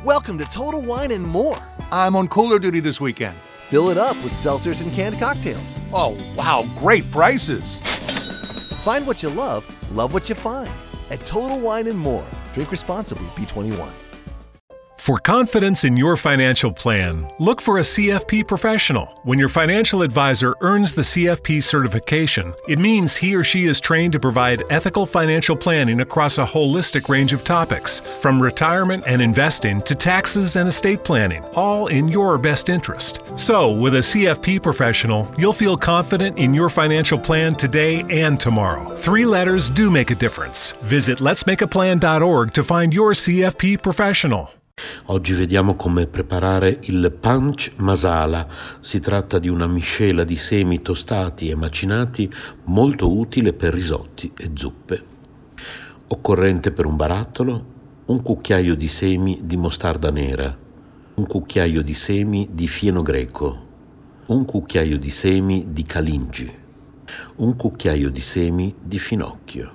Welcome to Total Wine and More. I'm on cooler duty this weekend. Fill it up with seltzers and canned cocktails. Oh, wow, great prices. Find what you love what you find. At Total Wine and More. Drink responsibly, B21. For confidence in your financial plan, look for a CFP professional. When your financial advisor earns the CFP certification, it means he or she is trained to provide ethical financial planning across a holistic range of topics, from retirement and investing to taxes and estate planning, all in your best interest. So, with a CFP professional, you'll feel confident in your financial plan today and tomorrow. 3 letters do make a difference. Visit letsmakeaplan.org to find your CFP professional. Oggi vediamo come preparare il panch masala. Si tratta di una miscela di semi tostati e macinati molto utile per risotti e zuppe. Occorrente per un barattolo: un cucchiaio di semi di mostarda nera, un cucchiaio di semi di fieno greco, un cucchiaio di semi di calingi, un cucchiaio di semi di finocchio,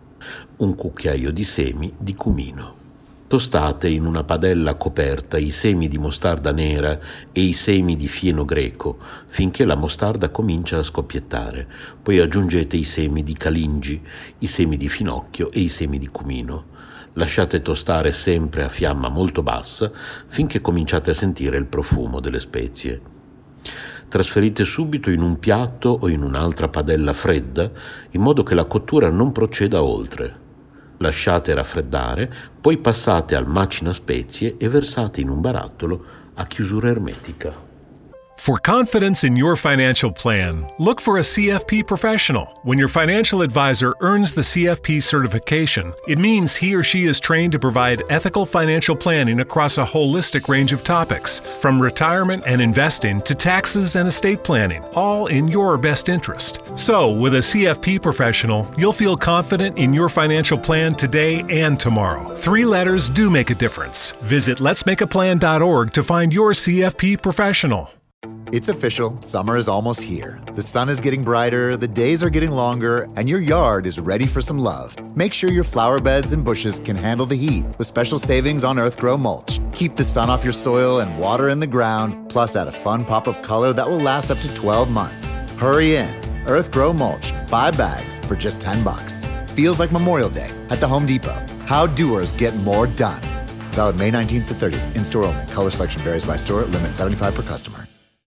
un cucchiaio di semi di cumino. Tostate in una padella coperta i semi di mostarda nera e i semi di fieno greco finché la mostarda comincia a scoppiettare. Poi aggiungete i semi di calingi, i semi di finocchio e i semi di cumino. Lasciate tostare sempre a fiamma molto bassa finché cominciate a sentire il profumo delle spezie. Trasferite subito in un piatto o in un'altra padella fredda in modo che la cottura non proceda oltre. Lasciate raffreddare, poi passate al macina spezie e versate in un barattolo a chiusura ermetica. For confidence in your financial plan, look for a CFP professional. When your financial advisor earns the CFP certification, it means he or she is trained to provide ethical financial planning across a holistic range of topics, from retirement and investing to taxes and estate planning, all in your best interest. So, with a CFP professional, you'll feel confident in your financial plan today and tomorrow. 3 letters do make a difference. Visit letsmakeaplan.org to find your CFP professional. It's official, summer is almost here. The sun is getting brighter, the days are getting longer, and your yard is ready for some love. Make sure your flower beds and bushes can handle the heat with special savings on Earthgrow mulch. Keep the sun off your soil and water in the ground, plus add a fun pop of color that will last up to 12 months. Hurry in. Earthgrow mulch, 5 bags for just $10. Feels like Memorial Day at the Home Depot. How doers get more done. Valid May 19th to 30th. In-store only. Color selection varies by store. Limit 75 per customer.